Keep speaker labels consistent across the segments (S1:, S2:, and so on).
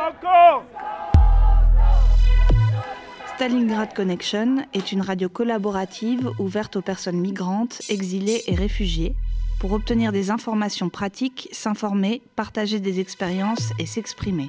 S1: Stalingrad Connection est une radio collaborative ouverte aux personnes migrantes, exilées et réfugiées pour obtenir des informations pratiques, s'informer, partager des expériences et s'exprimer.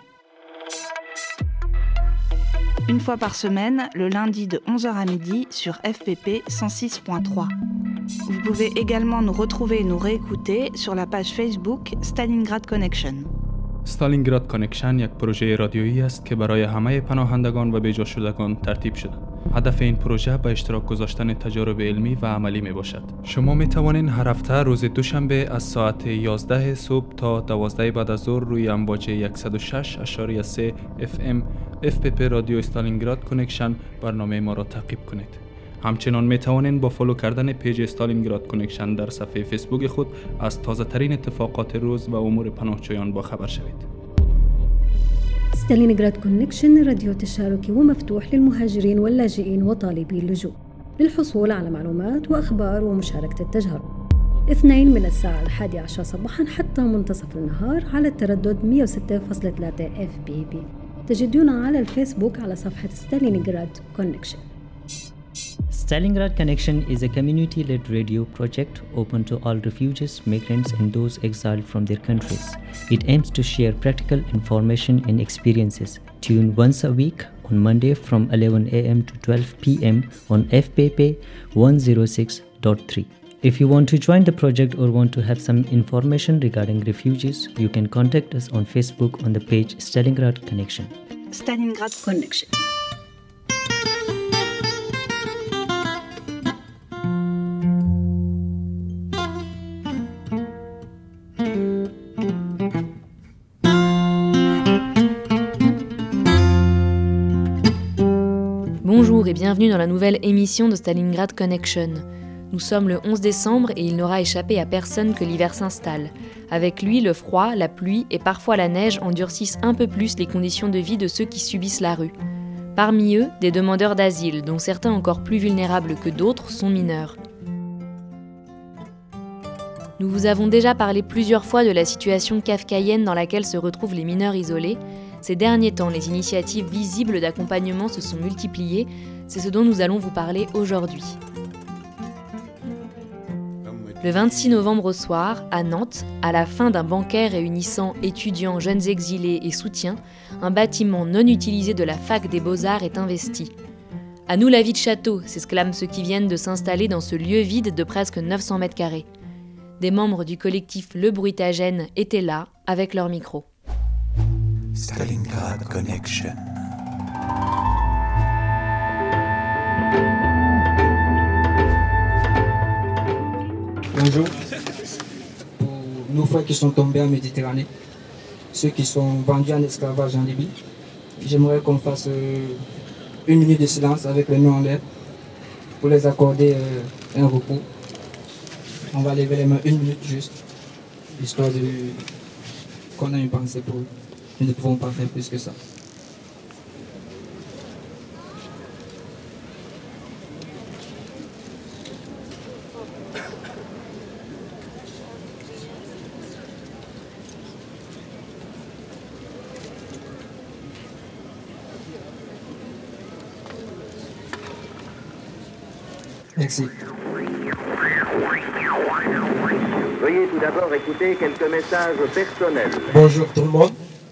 S1: Une fois par semaine, le lundi de 11h à midi sur FPP 106.3. Vous pouvez également nous retrouver et nous réécouter sur la page Facebook Stalingrad Connection.
S2: استالینگراد کانکشن یک پروژه رادیویی است که برای همه پناهندگان و بیجا شدگان ترتیب شده. هدف این پروژه به اشتراک گذاشتن تجارب علمی و عملی می باشد. شما می توانید هر هفته روز دوشنبه از ساعت 11 صبح تا 12 بعد از ظهر روی امواج 106.3 FM FPP رادیو استالینگراد کانکشن برنامه ما را تعقیب کنید. همچنان می توانید با فالو کردن پیج استالینگراد کانکشن در صفحه فیسبوک خود از تازه ترین اتفاقات روز و امور پناهجویان با خبر شوید.
S3: ستالينغراد كونكشن راديو تشاركي ومفتوح للمهاجرين واللاجئين وطالبي اللجوء للحصول على معلومات وأخبار ومشاركة التجارب. اثنين من الساعة 11 صباحا حتى منتصف النهار على التردد 106.3 FPP. تجدونا على الفيسبوك على صفحة ستالينغراد كونكشن.
S4: Stalingrad Connection is a community-led radio project open to all refugees, migrants and those exiled from their countries. It aims to share practical information and experiences. Tune once a week on Monday from 11 a.m. to 12 p.m. on FPP 106.3. If you want to join the project or want to have some information regarding refugees, you can contact us on Facebook on the page Stalingrad Connection.
S1: Stalingrad Connection.
S5: Bonjour et bienvenue dans la nouvelle émission de Stalingrad Connection. Nous sommes le 11 décembre et il n'aura échappé à personne que l'hiver s'installe. Avec lui, le froid, la pluie et parfois la neige endurcissent un peu plus les conditions de vie de ceux qui subissent la rue. Parmi eux, des demandeurs d'asile, dont certains encore plus vulnérables que d'autres sont mineurs. Nous vous avons déjà parlé plusieurs fois de la situation kafkaïenne dans laquelle se retrouvent les mineurs isolés. Ces derniers temps, les initiatives visibles d'accompagnement se sont multipliées. C'est ce dont nous allons vous parler aujourd'hui. Le 26 novembre au soir, à Nantes, à la fin d'un banquet réunissant étudiants, jeunes exilés et soutiens, un bâtiment non utilisé de la fac des Beaux-Arts est investi. « À nous la vie de château !» s'exclament ceux qui viennent de s'installer dans ce lieu vide de presque 900 mètres carrés. Des membres du collectif Le Bruitagène étaient là, avec leur micro.
S6: Stalingrad Connection.
S7: Bonjour. Pour nos frères qui sont tombés en Méditerranée, ceux qui sont vendus en esclavage en Libye, j'aimerais qu'on fasse une minute de silence avec les mains en l'air pour les accorder un repos. On va lever les mains une minute juste, histoire qu'on ait une pensée pour eux. Nous ne pouvons pas faire plus que ça. Merci.
S8: Veuillez tout d'abord écouter quelques messages personnels.
S9: Bonjour tout le monde.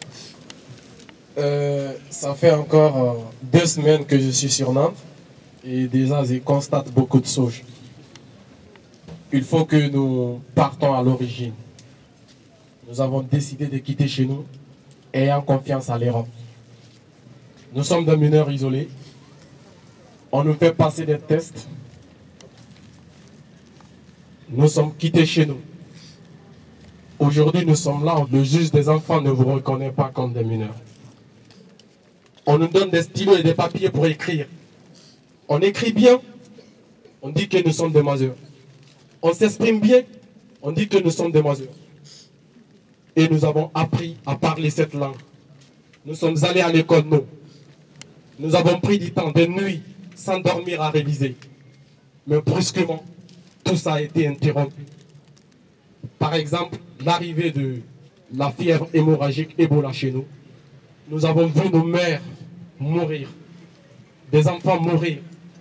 S9: Ça fait encore 2 semaines que je suis sur Nantes et déjà je constate beaucoup de choses. Il faut que nous partons à l'origine. Nous avons décidé de quitter chez nous, ayant confiance à l'Europe. Nous sommes des mineurs isolés. On nous fait passer des tests. Nous sommes quittés chez nous. Aujourd'hui, nous sommes là, le juge des enfants ne vous reconnaît pas comme des mineurs. On nous donne des stylos et des papiers pour écrire. On écrit bien, on dit que nous sommes des majeurs. On s'exprime bien, on dit que nous sommes des majeurs. Et nous avons appris à parler cette langue. Nous sommes allés à l'école, nous. Nous avons pris du temps, des nuits, sans dormir à réviser. Mais brusquement, tout ça a été interrompu. Par exemple, l'arrivée de la fièvre hémorragique Ebola chez nous Nous avons vu nos mères mourir, des enfants mourir.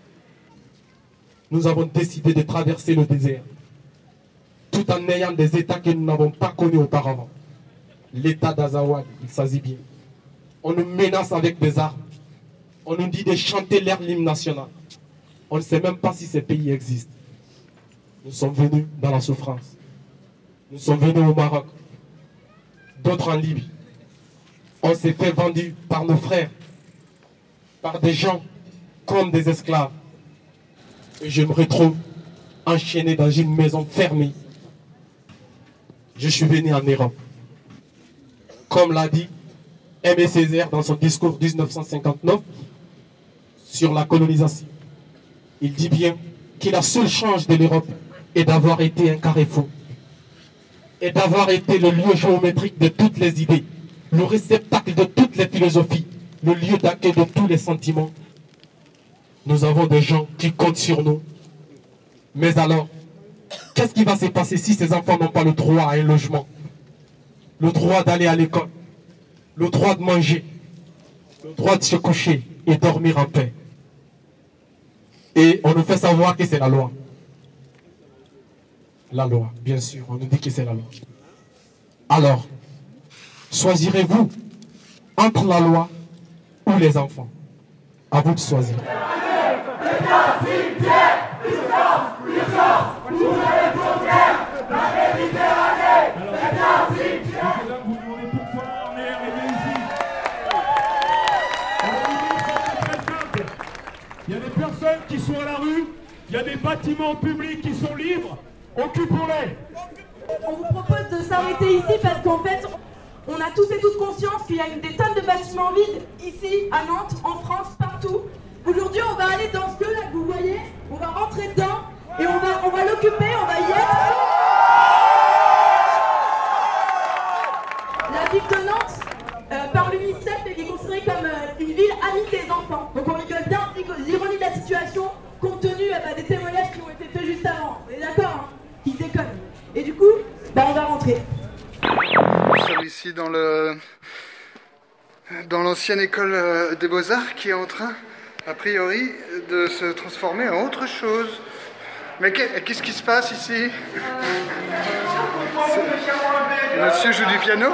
S9: Nous avons décidé de traverser le désert, tout en ayant des États que nous n'avons pas connus auparavant. L'État d'Azawad, il s'agit bien. On nous menace avec des armes. On nous dit de chanter l'hymne national. On ne sait même pas si ces pays existent. Nous sommes venus dans la souffrance. Nous sommes venus au Maroc, d'autres en Libye. On s'est fait vendre par nos frères, par des gens comme des esclaves. Et je me retrouve enchaîné dans une maison fermée. Je suis venu en Europe. Comme l'a dit Aimé Césaire dans son discours 1959 sur la colonisation. Il dit bien que la seule chance de l'Europe est d'avoir été un carrefour et d'avoir été le lieu géométrique de toutes les idées, le réceptacle de toutes les philosophies, le lieu d'accueil de tous les sentiments. Nous avons des gens qui comptent sur nous. Mais alors, qu'est-ce qui va se passer si ces enfants n'ont pas le droit à un logement, le droit d'aller à l'école, le droit de manger, le droit de se coucher et dormir en paix? Et on nous fait savoir que c'est la loi. La loi, bien sûr, on nous dit que c'est la loi. Alors, choisirez-vous entre la loi ou les enfants? À vous de choisir.
S6: Il y a des personnes qui sont à la rue, il y a des bâtiments publics qui sont libres, occupons-les.
S10: On vous propose de s'arrêter ici parce qu'en fait, on a tous et toutes conscience qu'il y a des tonnes de bâtiments vides ici, à Nantes, en France, partout. Aujourd'hui, on va aller dans ce là que vous voyez, on va rentrer dedans et on va l'occuper, on va y être. La ville de Nantes, par l'UNICEF, est considérée comme une ville amie des enfants. Donc on rigole bien l'ironie de la situation compte tenu des témoignages qui ont été faits juste avant. On est d'accord, hein? Ils déconnent. Et du coup, on va rentrer.
S11: Nous sommes ici dans l'ancienne école des Beaux-Arts qui est en train, a priori, de se transformer en autre chose. Mais qu'est-ce qui se passe ici? Monsieur joue du piano?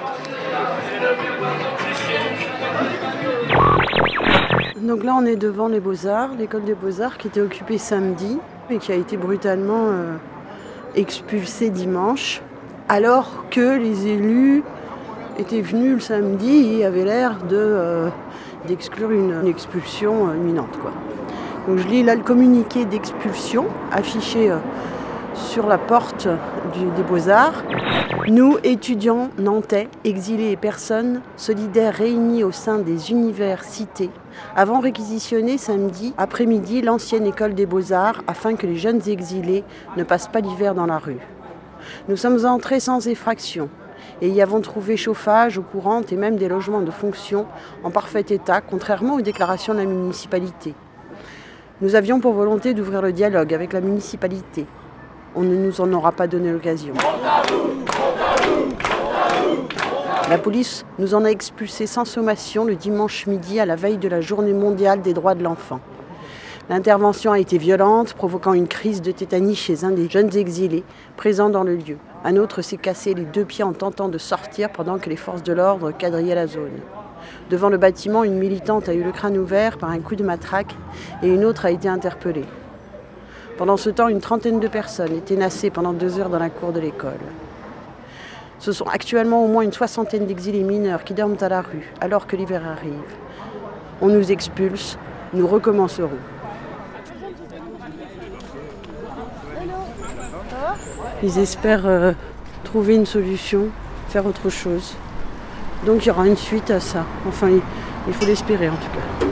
S12: Donc là on est devant les Beaux-Arts, l'école des Beaux-Arts qui était occupée samedi et qui a été brutalement expulsée dimanche, alors que les élus étaient venus le samedi et avaient l'air d'exclure une expulsion imminente, quoi. Donc je lis là le communiqué d'expulsion affiché sur la porte des Beaux-Arts. Nous, étudiants nantais, exilés et personnes solidaires réunis au sein des universités, avons réquisitionné samedi après-midi l'ancienne école des Beaux-Arts afin que les jeunes exilés ne passent pas l'hiver dans la rue. Nous sommes entrés sans effraction et y avons trouvé chauffage, eau courante et même des logements de fonction en parfait état, contrairement aux déclarations de la municipalité. Nous avions pour volonté d'ouvrir le dialogue avec la municipalité. On ne nous en aura pas donné l'occasion. La police nous en a expulsés sans sommation le dimanche midi à la veille de la journée mondiale des droits de l'enfant. L'intervention a été violente, provoquant une crise de tétanie chez un des jeunes exilés présents dans le lieu. Un autre s'est cassé les 2 pieds en tentant de sortir pendant que les forces de l'ordre quadrillaient la zone. Devant le bâtiment, une militante a eu le crâne ouvert par un coup de matraque et une autre a été interpellée. Pendant ce temps, une trentaine de personnes étaient nassées pendant 2 heures dans la cour de l'école. Ce sont actuellement au moins une 60aine d'exilés mineurs qui dorment à la rue alors que l'hiver arrive. On nous expulse, nous recommencerons. Ils espèrent trouver une solution, faire autre chose. Donc il y aura une suite à ça. Enfin, il faut l'espérer en tout cas.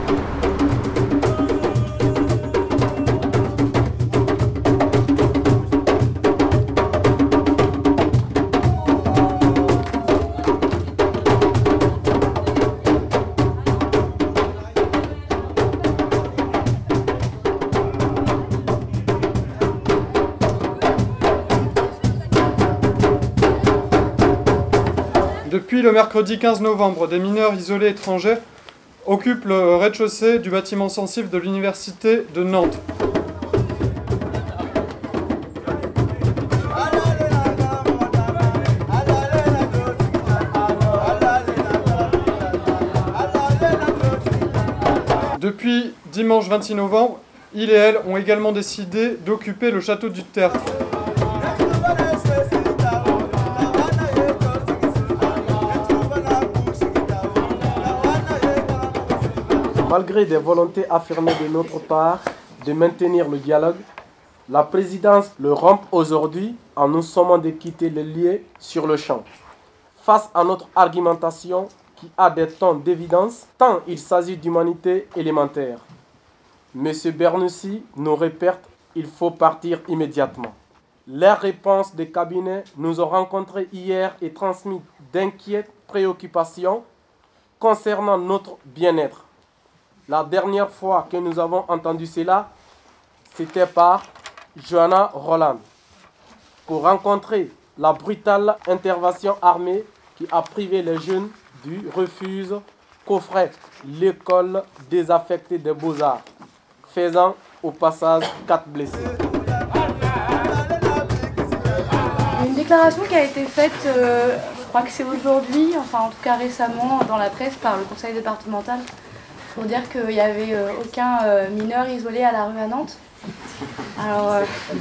S13: Depuis le mercredi 15 novembre, des mineurs isolés étrangers occupent le rez-de-chaussée du bâtiment sensible de l'université de Nantes. Depuis dimanche 26 novembre, ils et elles ont également décidé d'occuper le château du Tertre.
S9: Malgré des volontés affirmées de notre part de maintenir le dialogue, la présidence le rompt aujourd'hui en nous sommant de quitter les lieux sur le champ. Face à notre argumentation qui a des tons d'évidence, tant il s'agit d'humanité élémentaire. M. Bernoucy nous répète qu'il faut partir immédiatement. Les réponses des cabinets nous ont rencontrés hier et transmis d'inquiètes préoccupations concernant notre bien-être. La dernière fois que nous avons entendu cela, c'était par Johanna Roland, pour rencontrer la brutale intervention armée qui a privé les jeunes du refuge qu'offrait l'école désaffectée des Beaux-Arts, faisant au passage 4 blessés.
S14: Une déclaration qui a été faite, je crois que c'est aujourd'hui, enfin en tout cas récemment dans la presse par le conseil départemental, pour dire qu'il n'y avait aucun mineur isolé à la rue à Nantes. Alors,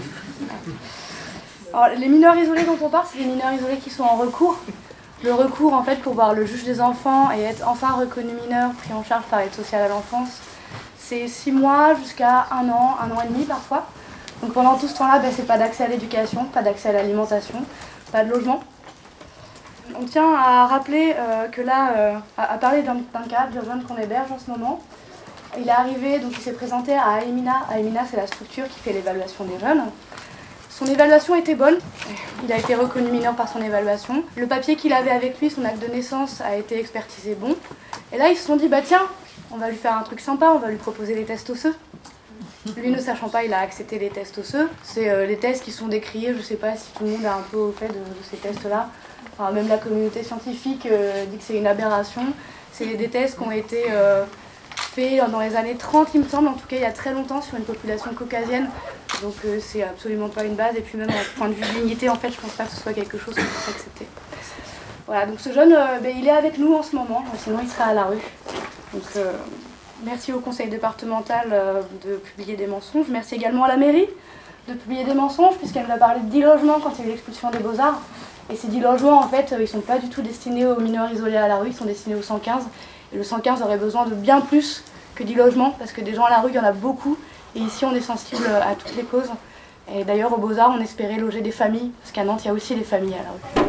S14: les mineurs isolés dont on parle, c'est des mineurs isolés qui sont en recours. Le recours, en fait, pour voir le juge des enfants et être enfin reconnu mineur, pris en charge par l'aide sociale à l'enfance, c'est 6 mois jusqu'à 1 an et demi parfois. Donc pendant tout ce temps-là, c'est pas d'accès à l'éducation, pas d'accès à l'alimentation, pas de logement. On tient à rappeler que là, à parler d'un cas de jeune qu'on héberge en ce moment. Il est arrivé, donc il s'est présenté à Aemina. Aemina, c'est la structure qui fait l'évaluation des jeunes. Son évaluation était bonne. Il a été reconnu mineur par son évaluation. Le papier qu'il avait avec lui, son acte de naissance, a été expertisé bon. Et là, ils se sont dit, tiens, on va lui faire un truc sympa, on va lui proposer les tests osseux. Lui, ne sachant pas, il a accepté les tests osseux. C'est les tests qui sont décriés, je ne sais pas si tout le monde est un peu au fait de ces tests-là. Enfin, même la communauté scientifique dit que c'est une aberration. C'est des tests qui ont été faits dans les années 30, il me semble, en tout cas il y a très longtemps, sur une population caucasienne. Donc c'est absolument pas une base. Et puis même au point de vue de dignité, en fait, je pense pas que ce soit quelque chose qu'on puisse accepter. Voilà, donc ce jeune, il est avec nous en ce moment, sinon il serait à la rue. Donc merci au conseil départemental de publier des mensonges. Merci également à la mairie de publier des mensonges, puisqu'elle nous a parlé de 10 logements quand il y a eu l'expulsion des Beaux-Arts. Et ces 10 logements, en fait, ils ne sont pas du tout destinés aux mineurs isolés à la rue, ils sont destinés au 115. Et le 115 aurait besoin de bien plus que 10 logements, parce que des gens à la rue, il y en a beaucoup. Et ici, on est sensible à toutes les causes. Et d'ailleurs, aux Beaux-Arts, on espérait loger des familles, parce qu'à Nantes, il y a aussi des familles à la rue.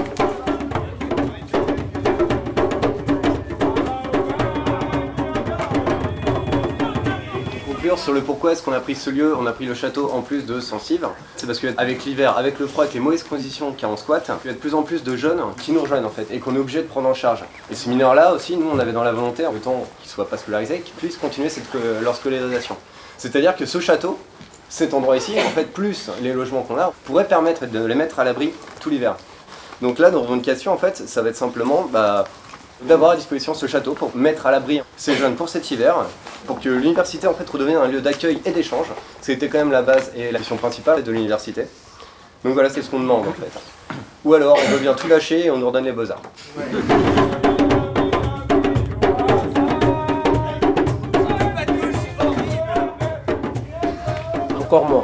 S15: Sur le pourquoi est-ce qu'on a pris ce lieu, on a pris le château en plus de Sensive. C'est parce qu'avec l'hiver, avec le froid, avec les mauvaises conditions qu'il y a en squat, il y a de plus en plus de jeunes qui nous rejoignent en fait et qu'on est obligé de prendre en charge. Et ces mineurs-là aussi, nous on avait dans la volonté, en temps qu'ils ne soient pas scolarisés, qu'ils puissent continuer leur scolarisation. C'est-à-dire que ce château, cet endroit ici, en fait, plus les logements qu'on a, pourrait permettre de les mettre à l'abri tout l'hiver. Donc là, nos revendications, en fait, ça va être simplement d'avoir à disposition ce château pour mettre à l'abri ces jeunes pour cet hiver, pour que l'université en fait redevienne un lieu d'accueil et d'échange. C'était quand même la base et la mission principale de l'université. Donc voilà, c'est ce qu'on demande en fait. Ou alors on veut bien tout lâcher et on nous redonne les Beaux-Arts.
S9: Encore moins.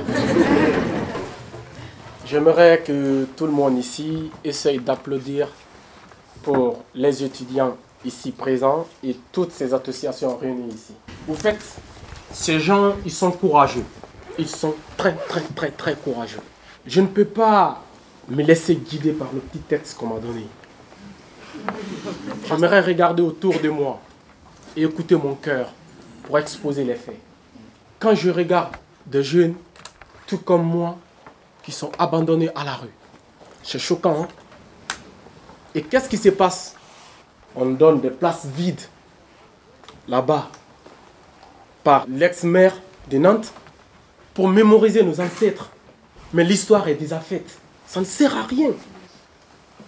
S9: J'aimerais que tout le monde ici essaye d'applaudir pour les étudiants ici présents et toutes ces associations réunies ici. Vous faites, ces gens, ils sont courageux. Ils sont très, très, très, très courageux. Je ne peux pas me laisser guider par le petit texte qu'on m'a donné. J'aimerais regarder autour de moi et écouter mon cœur pour exposer les faits. Quand je regarde des jeunes, tout comme moi, qui sont abandonnés à la rue, c'est choquant, hein? Et qu'est-ce qui se passe? On donne des places vides là-bas par l'ex-maire de Nantes pour mémoriser nos ancêtres. Mais l'histoire est déjà faite. Ça ne sert à rien.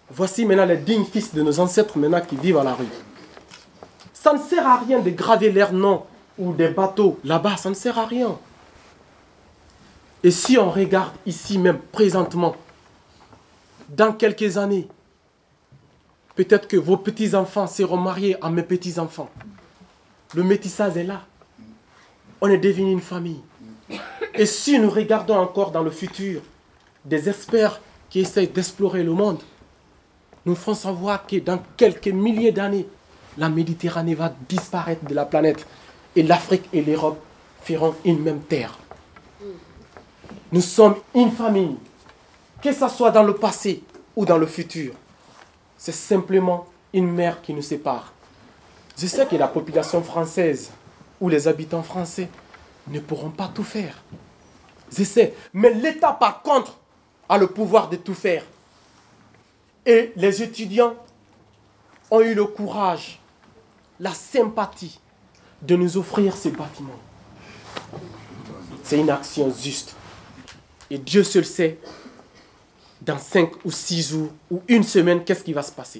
S9: Voici maintenant les dignes fils de nos ancêtres maintenant qui vivent à la rue. Ça ne sert à rien de graver leurs noms ou des bateaux là-bas, ça ne sert à rien. Et si on regarde ici même présentement, dans quelques années, peut-être que vos petits-enfants seront mariés à mes petits-enfants. Le métissage est là. On est devenu une famille. Et si nous regardons encore dans le futur des experts qui essayent d'explorer le monde, nous ferons savoir que dans quelques milliers d'années, la Méditerranée va disparaître de la planète et l'Afrique et l'Europe feront une même terre. Nous sommes une famille, que ce soit dans le passé ou dans le futur. C'est simplement une mer qui nous sépare. Je sais que la population française ou les habitants français ne pourront pas tout faire. Je sais, mais l'État par contre a le pouvoir de tout faire. Et les étudiants ont eu le courage, la sympathie de nous offrir ces bâtiments. C'est une action juste. Et Dieu seul sait, dans 5 ou 6 jours ou une semaine, qu'est-ce qui va se passer.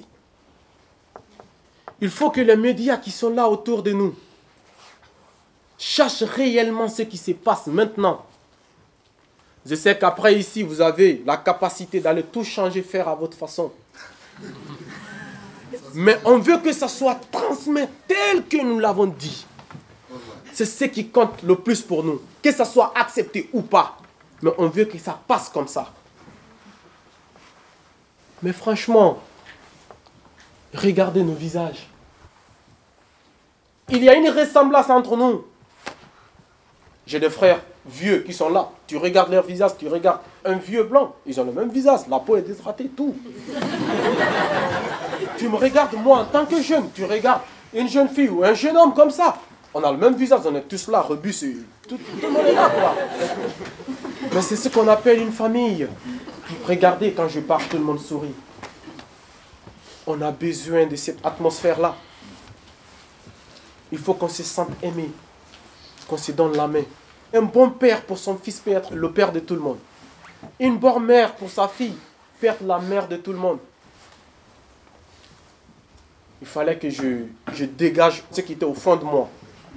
S9: Il faut que les médias qui sont là autour de nous cherchent réellement ce qui se passe maintenant. Je sais qu'après ici, vous avez la capacité d'aller tout changer, faire à votre façon. Mais on veut que ça soit transmis tel que nous l'avons dit. C'est ce qui compte le plus pour nous. Que ça soit accepté ou pas. Mais on veut que ça passe comme ça. Mais franchement, regardez nos visages. Il y a une ressemblance entre nous. J'ai des frères vieux qui sont là. Tu regardes leur visage, tu regardes un vieux blanc. Ils ont le même visage, la peau est déshydratée, tout. Tu me regardes, moi, en tant que jeune, tu regardes une jeune fille ou un jeune homme comme ça. On a le même visage, on est tous là, rebus, tout le monde est là, quoi. Mais c'est ce qu'on appelle une famille. Regardez, quand je parle, tout le monde sourit. On a besoin de cette atmosphère-là. Il faut qu'on se sente aimé, qu'on se donne la main. Un bon père pour son fils peut être le père de tout le monde. Une bonne mère pour sa fille peut être la mère de tout le monde. Il fallait que je dégage ce qui était au fond de moi.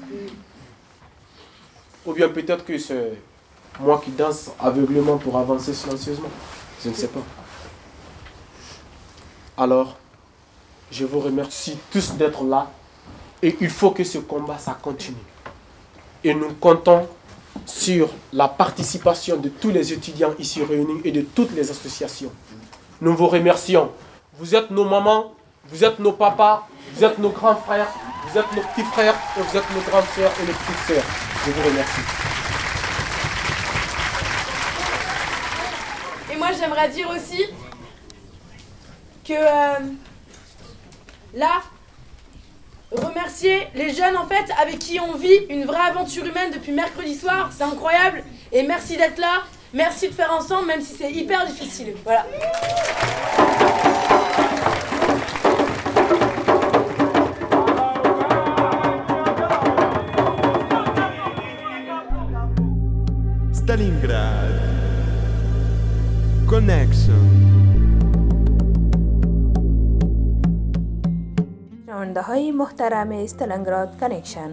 S9: Ou bien peut-être que c'est moi qui danse aveuglément pour avancer silencieusement. Je ne sais pas. Alors, je vous remercie tous d'être là. Et il faut que ce combat, ça continue. Et nous comptons sur la participation de tous les étudiants ici réunis et de toutes les associations. Nous vous remercions. Vous êtes nos mamans, vous êtes nos papas, vous êtes nos grands frères, vous êtes nos petits frères et vous êtes nos grandes sœurs et nos petites sœurs. Je vous remercie.
S10: Et moi, j'aimerais dire aussi que là, remercier les jeunes en fait avec qui on vit une vraie aventure humaine depuis mercredi soir, c'est incroyable. Et merci d'être là, merci de faire ensemble même si c'est hyper difficile. Voilà.
S16: Stalingrad Connection.
S17: شنونده های محترم استالینگراد کانکشن،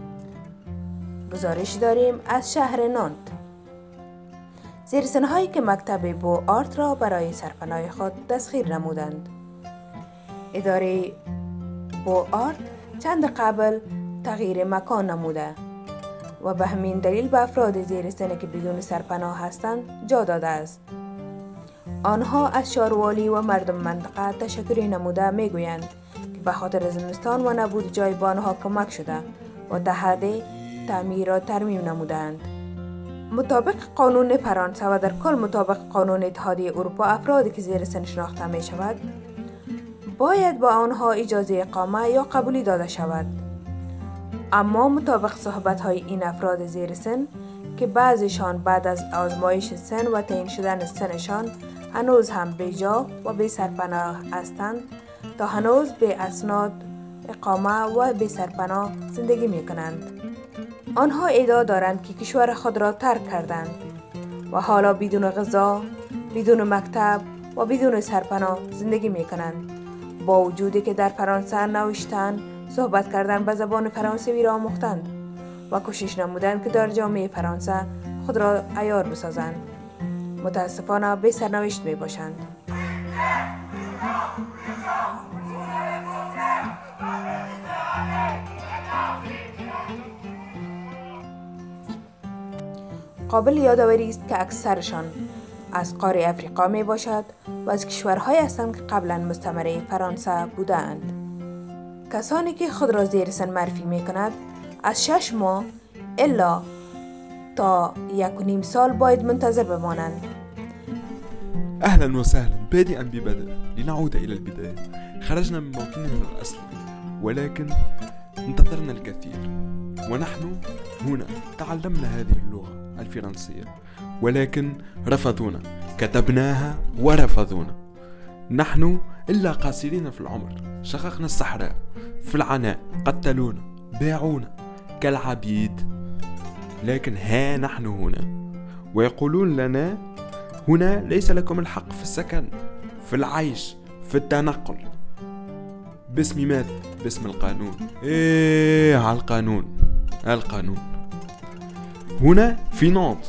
S17: گزارش داریم از شهر نانت. زیرسن‌هایی که مکتب بو آرت را برای سرپناه خود تسخیر نمودند. اداره بو آرت چند قبل تغییر مکان نموده و به همین دلیل به افراد زیرسنی که بدون سرپناه هستند جا داده است. آنها از شاروالی و مردم منطقه تشکری نموده میگویند به خاطر زمستان و نبود جای به آنها کمک شده و تحت تعمیر و ترمیم نمودند. مطابق قانون فرانسه و در کل مطابق قانون اتحادیه اروپا، افرادی که زیر سن شناخته می شود باید با آنها اجازه اقامه یا قبولی داده شود. اما مطابق صحبت های این افراد زیر سن که بعضیشان بعد از آزمایش سن و تعیین شدن سنشان هنوز هم بیجا و بی سرپناه هستند، تا هنوز به اسناد اقامه و به سرپناه زندگی می کنند. آنها ادعا دارند که کشور خود را ترک کردند و حالا بدون غذا، بدون مکتب و بدون سرپناه زندگی می کنند. با وجودی که در فرانسه نوشتن، صحبت کردن به زبان فرانسوی را آموختند و کوشش نمودند که در جامعه فرانسه خود را عیار بسازند. متاسفانه بی سرنوشت می باشند. قابل یادآوری است که اکثرشان از قاره افریقا می باشد و از کشورهایی هستند که قبلا مستعمره فرانسه بودند. کسانی که خود را زیر سن معرفی می کند از 6 ماه الا تا 1.5 سال باید منتظر بمانند.
S16: أهلا وسهلا. بادئا ببدء لنعود إلى البداية. خرجنا من موطننا الأصلي ولكن انتظرنا الكثير، ونحن هنا تعلمنا هذه اللغة الفرنسية ولكن رفضونا، كتبناها ورفضونا. نحن إلا قاصرين في العمر، شققنا الصحراء في العناء، قتلونا، باعونا كالعبيد، لكن ها نحن هنا ويقولون لنا هنا ليس لكم الحق في السكن، في العيش، في التنقل. باسم ماذا؟ باسم القانون. ايه على القانون. القانون هنا في نانت.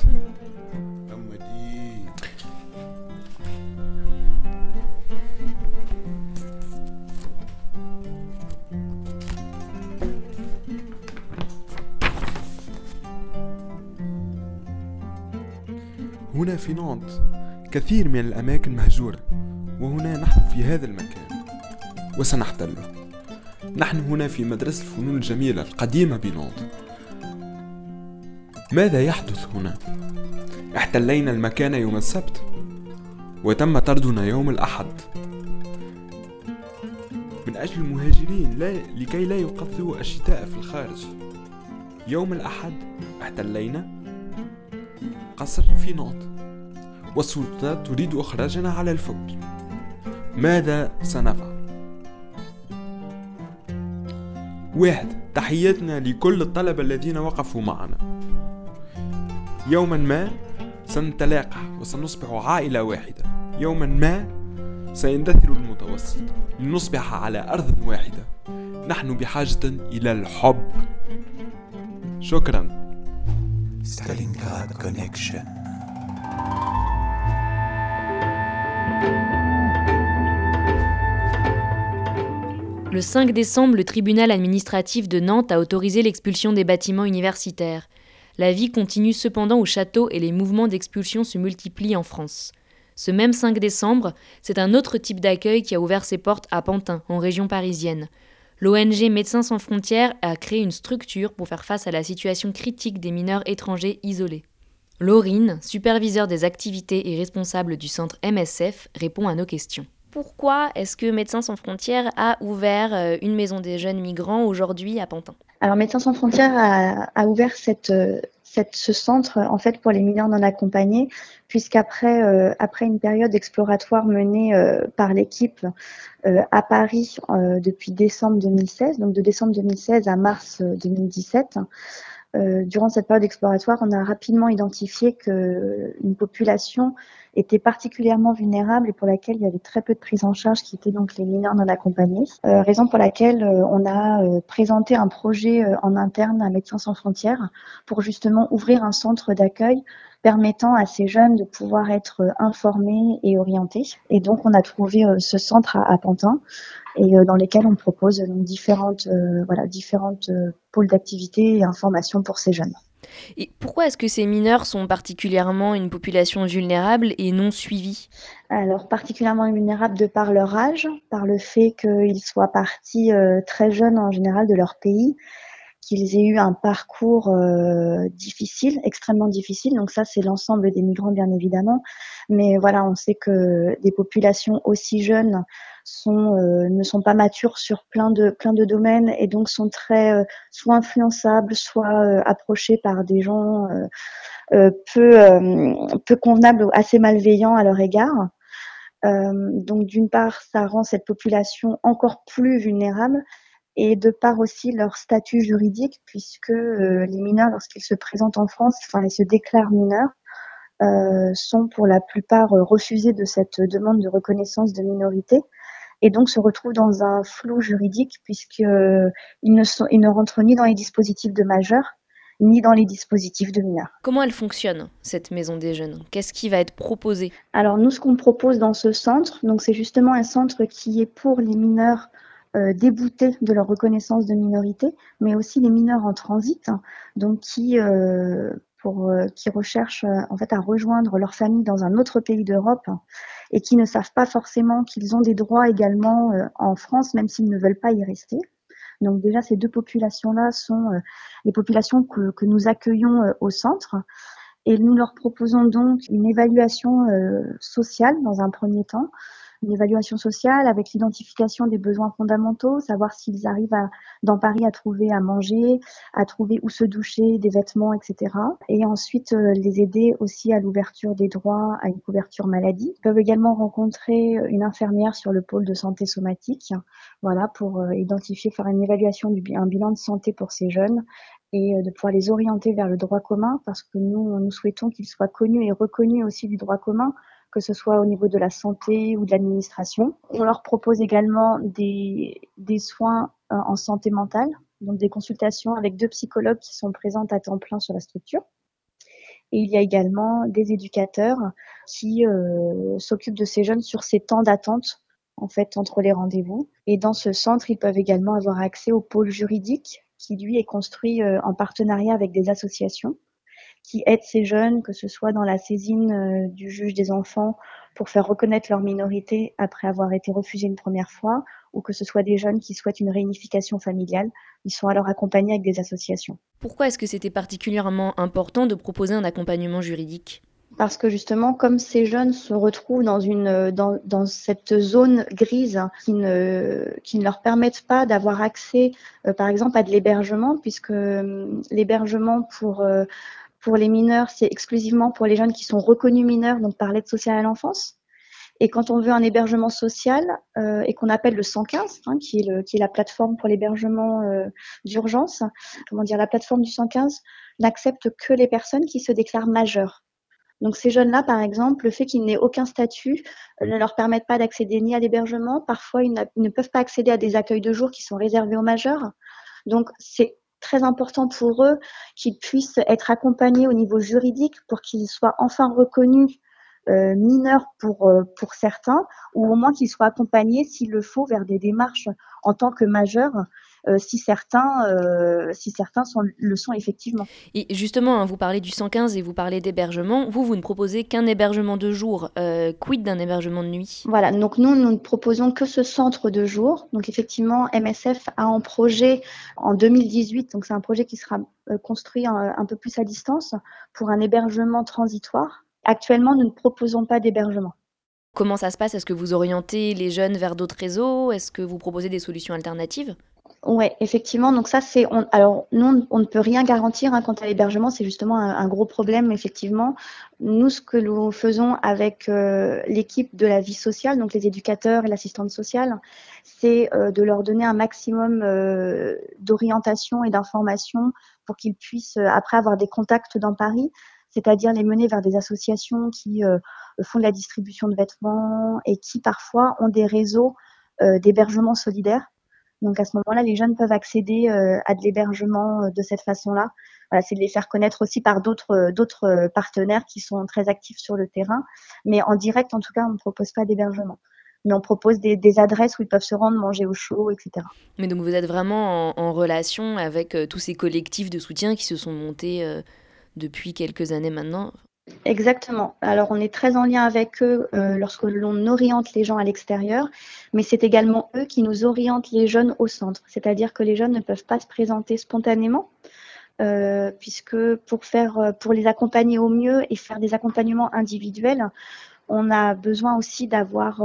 S16: هنا في نانت كثير من الأماكن مهجورة، وهنا نحن في هذا المكان وسنحتله. نحن هنا في مدرسة الفنون الجميلة القديمة بنانت. ماذا يحدث هنا؟ احتلينا المكان يوم السبت وتم طردنا يوم الأحد من أجل المهاجرين لكي لا يقضوا الشتاء في الخارج. يوم الأحد احتلينا قصر في نانت والسلطات تريد إخراجنا على الفور. ماذا سنفعل؟ 1. تحياتنا لكل الطلبة الذين وقفوا معنا. يوما ما سنتلاقى وسنصبح عائلة واحدة. يوما ما سيندثر المتوسط لنصبح على أرض واحدة. نحن بحاجة إلى الحب. شكرا.
S18: Stalingrad Connection.
S5: Le 5 décembre, le tribunal administratif de Nantes a autorisé l'expulsion des bâtiments universitaires. La vie continue cependant au château et les mouvements d'expulsion se multiplient en France. Ce même 5 décembre, c'est un autre type d'accueil qui a ouvert ses portes à Pantin, en région parisienne. L'ONG Médecins sans frontières a créé une structure pour faire face à la situation critique des mineurs étrangers isolés. Laurine, superviseur des activités et responsable du centre MSF, répond à nos questions. Pourquoi est-ce que Médecins sans frontières a ouvert une maison des jeunes migrants aujourd'hui à Pantin ?
S19: Alors Médecins sans frontières a ouvert ce centre en fait pour les mineurs non accompagnés, puisqu'après après une période exploratoire menée par l'équipe à Paris depuis décembre 2016, donc de décembre 2016 à mars 2017, durant cette période exploratoire, on a rapidement identifié qu'une population était particulièrement vulnérable et pour laquelle il y avait très peu de prise en charge, qui étaient donc les mineurs non accompagnés. Raison pour laquelle on a présenté un projet en interne à Médecins sans frontières pour justement ouvrir un centre d'accueil permettant à ces jeunes de pouvoir être informés et orientés. Et donc on a trouvé ce centre à Pantin et dans lesquels on propose donc différentes pôles d'activité et informations pour ces jeunes.
S5: Et pourquoi est-ce que ces mineurs sont particulièrement une population vulnérable et non suivie ?
S19: Alors, particulièrement vulnérables de par leur âge, par le fait qu'ils soient partis très jeunes en général de leur pays, qu'ils aient eu un parcours difficile, extrêmement difficile. Donc ça, c'est l'ensemble des migrants, bien évidemment. Mais voilà, on sait que des populations aussi jeunes ne sont pas matures sur plein de domaines et donc sont très soit influençables, soit approchés par des gens peu convenables ou assez malveillants à leur égard. Donc d'une part, ça rend cette population encore plus vulnérable et de part aussi leur statut juridique, puisque les mineurs, lorsqu'ils se présentent en France, ils se déclarent mineurs. sont pour la plupart refusés de cette demande de reconnaissance de minorité et donc se retrouvent dans un flou juridique puisqu'ils ne rentrent ni dans les dispositifs de majeurs ni dans les dispositifs de mineurs.
S5: Comment elle fonctionne, cette maison des jeunes? Qu'est-ce qui va être proposé?
S19: Alors nous, ce qu'on propose dans ce centre, donc c'est justement un centre qui est pour les mineurs déboutés de leur reconnaissance de minorité, mais aussi les mineurs en transit, donc qui recherchent en fait à rejoindre leur famille dans un autre pays d'Europe et qui ne savent pas forcément qu'ils ont des droits également en France, même s'ils ne veulent pas y rester. Donc déjà, ces deux populations-là sont les populations que nous accueillons au centre. Et nous leur proposons donc une évaluation sociale dans un premier temps, une évaluation sociale avec l'identification des besoins fondamentaux, savoir s'ils arrivent dans Paris à trouver à manger, à trouver où se doucher, des vêtements, etc. Et ensuite les aider aussi à l'ouverture des droits à une couverture maladie. Ils peuvent également rencontrer une infirmière sur le pôle de santé somatique, voilà, pour identifier, faire une évaluation un bilan de santé pour ces jeunes et de pouvoir les orienter vers le droit commun parce que nous souhaitons qu'ils soient connus et reconnus aussi du droit commun, que ce soit au niveau de la santé ou de l'administration. On leur propose également des soins en santé mentale, donc des consultations avec 2 psychologues qui sont présentes à temps plein sur la structure. Et il y a également des éducateurs qui s'occupent de ces jeunes sur ces temps d'attente en fait entre les rendez-vous. Et dans ce centre, ils peuvent également avoir accès au pôle juridique qui lui est construit en partenariat avec des associations qui aident ces jeunes, que ce soit dans la saisine du juge des enfants pour faire reconnaître leur minorité après avoir été refusés une première fois, ou que ce soit des jeunes qui souhaitent une réunification familiale. Ils sont alors accompagnés avec des associations.
S5: Pourquoi est-ce que c'était particulièrement important de proposer un accompagnement juridique ?
S19: Parce que justement, comme ces jeunes se retrouvent dans cette zone grise qui ne leur permettent pas d'avoir accès, par exemple, à de l'hébergement, puisque l'hébergement pour les mineurs, c'est exclusivement pour les jeunes qui sont reconnus mineurs, donc par l'aide sociale à l'enfance. Et quand on veut un hébergement social et qu'on appelle le 115, qui est la plateforme pour l'hébergement d'urgence, la plateforme du 115 n'accepte que les personnes qui se déclarent majeures. Donc ces jeunes-là, par exemple, le fait qu'ils n'aient aucun statut ne leur permettent pas d'accéder ni à l'hébergement. Parfois, ils ne peuvent pas accéder à des accueils de jour qui sont réservés aux majeurs. Donc c'est très important pour eux qu'ils puissent être accompagnés au niveau juridique pour qu'ils soient enfin reconnus mineurs pour certains, ou au moins qu'ils soient accompagnés, s'il le faut, vers des démarches en tant que majeurs, si certains le sont effectivement.
S5: Et justement, vous parlez du 115 et vous parlez d'hébergement. Vous ne proposez qu'un hébergement de jour. Quid d'un hébergement de nuit ?
S19: Voilà, donc nous ne proposons que ce centre de jour. Donc effectivement, MSF a en projet en 2018, donc c'est un projet qui sera construit un peu plus à distance pour un hébergement transitoire. Actuellement, nous ne proposons pas d'hébergement.
S5: Comment ça se passe ? Est-ce que vous orientez les jeunes vers d'autres réseaux ? Est-ce que vous proposez des solutions alternatives ?
S19: Oui, effectivement. Donc ça, alors nous, on ne peut rien garantir quant à l'hébergement. C'est justement un gros problème, effectivement. Nous, ce que nous faisons avec l'équipe de la vie sociale, donc les éducateurs et l'assistante sociale, c'est de leur donner un maximum d'orientation et d'information pour qu'ils puissent après avoir des contacts dans Paris, c'est-à-dire les mener vers des associations qui font de la distribution de vêtements et qui parfois ont des réseaux d'hébergement solidaire. Donc à ce moment-là, les jeunes peuvent accéder à de l'hébergement de cette façon-là. Voilà, c'est de les faire connaître aussi par d'autres partenaires qui sont très actifs sur le terrain. Mais en direct, en tout cas, on ne propose pas d'hébergement. Mais on propose des adresses où ils peuvent se rendre, manger au chaud, etc.
S5: Mais donc vous êtes vraiment en relation avec tous ces collectifs de soutien qui se sont montés depuis quelques années maintenant ?
S19: Exactement. Alors, on est très en lien avec eux lorsque l'on oriente les gens à l'extérieur, mais c'est également eux qui nous orientent les jeunes au centre. C'est-à-dire que les jeunes ne peuvent pas se présenter spontanément, puisque pour les accompagner au mieux et faire des accompagnements individuels, on a besoin aussi d'avoir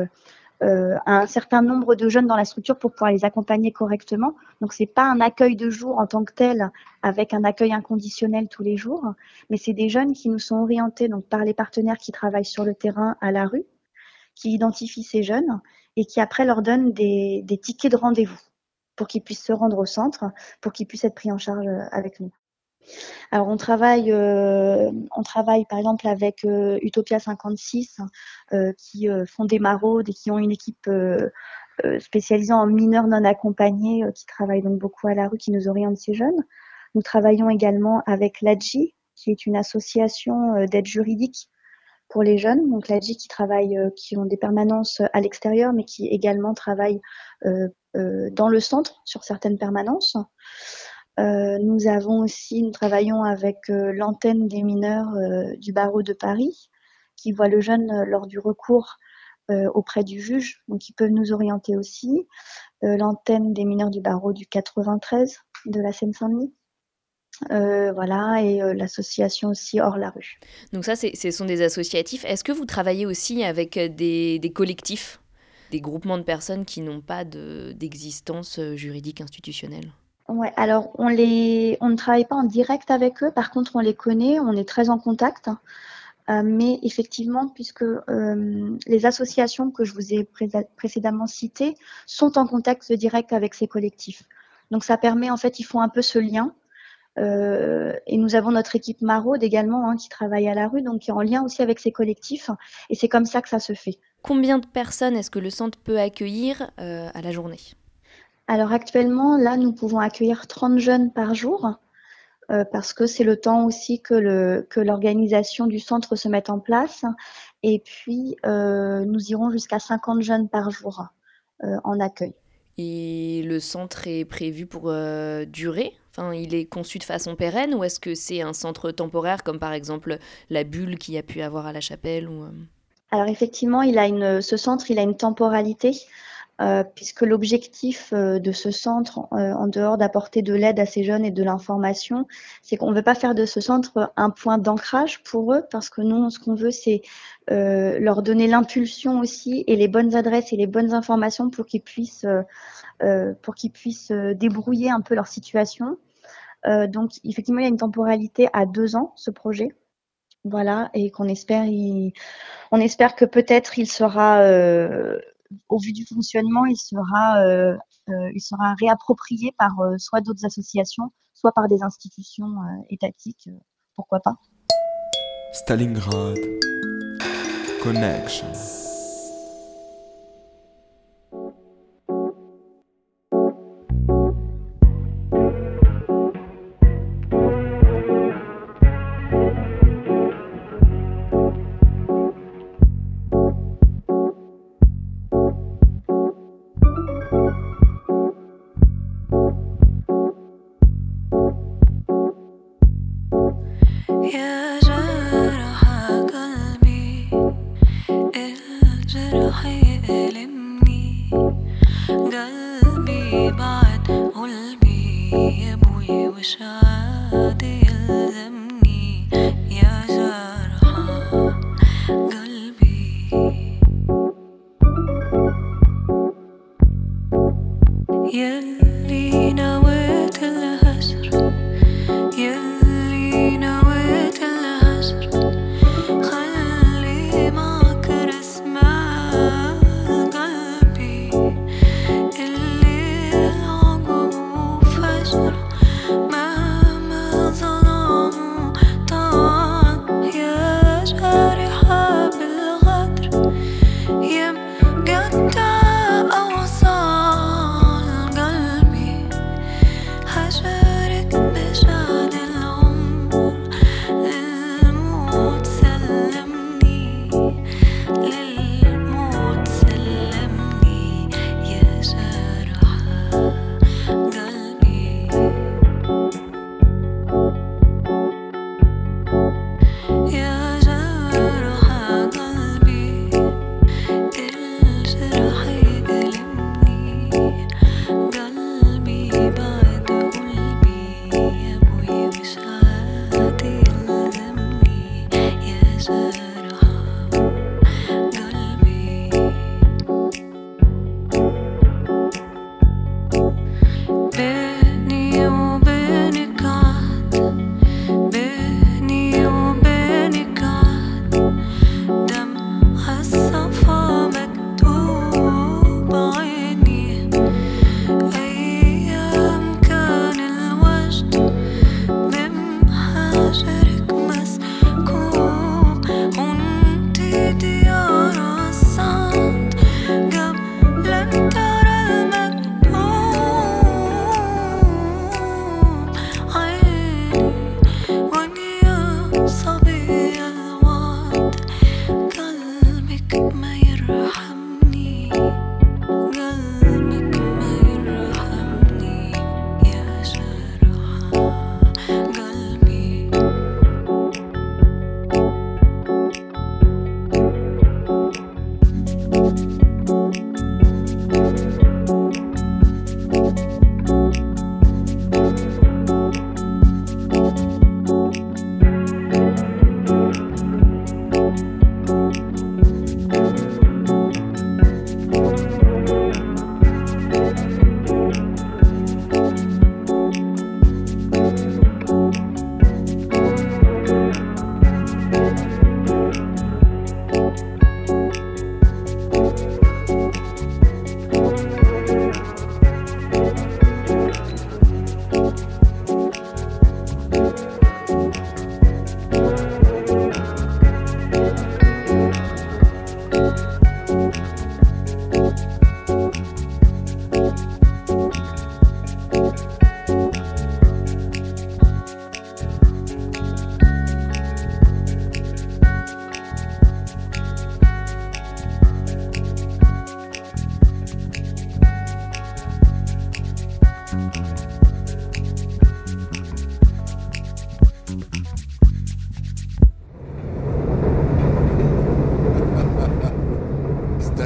S19: un certain nombre de jeunes dans la structure pour pouvoir les accompagner correctement. Donc, c'est pas un accueil de jour en tant que tel, avec un accueil inconditionnel tous les jours, mais c'est des jeunes qui nous sont orientés donc par les partenaires qui travaillent sur le terrain à la rue, qui identifient ces jeunes et qui après leur donnent des tickets de rendez-vous pour qu'ils puissent se rendre au centre, pour qu'ils puissent être pris en charge avec nous. Alors on travaille par exemple avec Utopia 56 qui font des maraudes et qui ont une équipe spécialisée en mineurs non accompagnés qui travaillent donc beaucoup à la rue, qui nous orientent ces jeunes. Nous travaillons également avec l'ADJI, qui est une association d'aide juridique pour les jeunes. Donc l'ADJI qui ont des permanences à l'extérieur, mais qui également travaillent dans le centre sur certaines permanences. Nous travaillons avec l'antenne des mineurs du barreau de Paris, qui voit le jeune lors du recours auprès du juge, donc ils peuvent nous orienter aussi. L'antenne des mineurs du barreau du 93 de la Seine-Saint-Denis. Et l'association aussi Hors la rue.
S5: Donc ça, ce sont des associatifs. Est-ce que vous travaillez aussi avec des collectifs, des groupements de personnes qui n'ont pas d'existence juridique institutionnelle ?
S19: Ouais, alors on ne travaille pas en direct avec eux, par contre on les connaît, on est très en contact. Mais effectivement, puisque les associations que je vous ai précédemment citées sont en contact direct avec ces collectifs. Donc ça permet, en fait, ils font un peu ce lien. Et nous avons notre équipe maraude également qui travaille à la rue, donc qui est en lien aussi avec ces collectifs. Et c'est comme ça que ça se fait.
S5: Combien de personnes est-ce que le centre peut accueillir à la journée ?
S19: Alors actuellement, là, nous pouvons accueillir 30 jeunes par jour. Parce que c'est le temps aussi que l'organisation du centre se mette en place. Et puis, nous irons jusqu'à 50 jeunes par jour en accueil.
S5: Et le centre est prévu pour durer ? Enfin, il est conçu de façon pérenne ou est-ce que c'est un centre temporaire comme par exemple la bulle qu'il y a pu avoir à La Chapelle ou...
S19: Alors effectivement, ce centre, il a une temporalité. Puisque l'objectif de ce centre, en dehors d'apporter de l'aide à ces jeunes et de l'information, c'est qu'on ne veut pas faire de ce centre un point d'ancrage pour eux, parce que nous, ce qu'on veut, c'est leur donner l'impulsion aussi et les bonnes adresses et les bonnes informations pour qu'ils puissent débrouiller un peu leur situation. Donc, effectivement, il y a une temporalité à 2 ans, ce projet. Voilà, et qu'on espère que peut-être il sera... au vu du fonctionnement, il sera réapproprié par soit d'autres associations, soit par des institutions étatiques, pourquoi pas.
S16: Stalingrad Connection.
S20: ما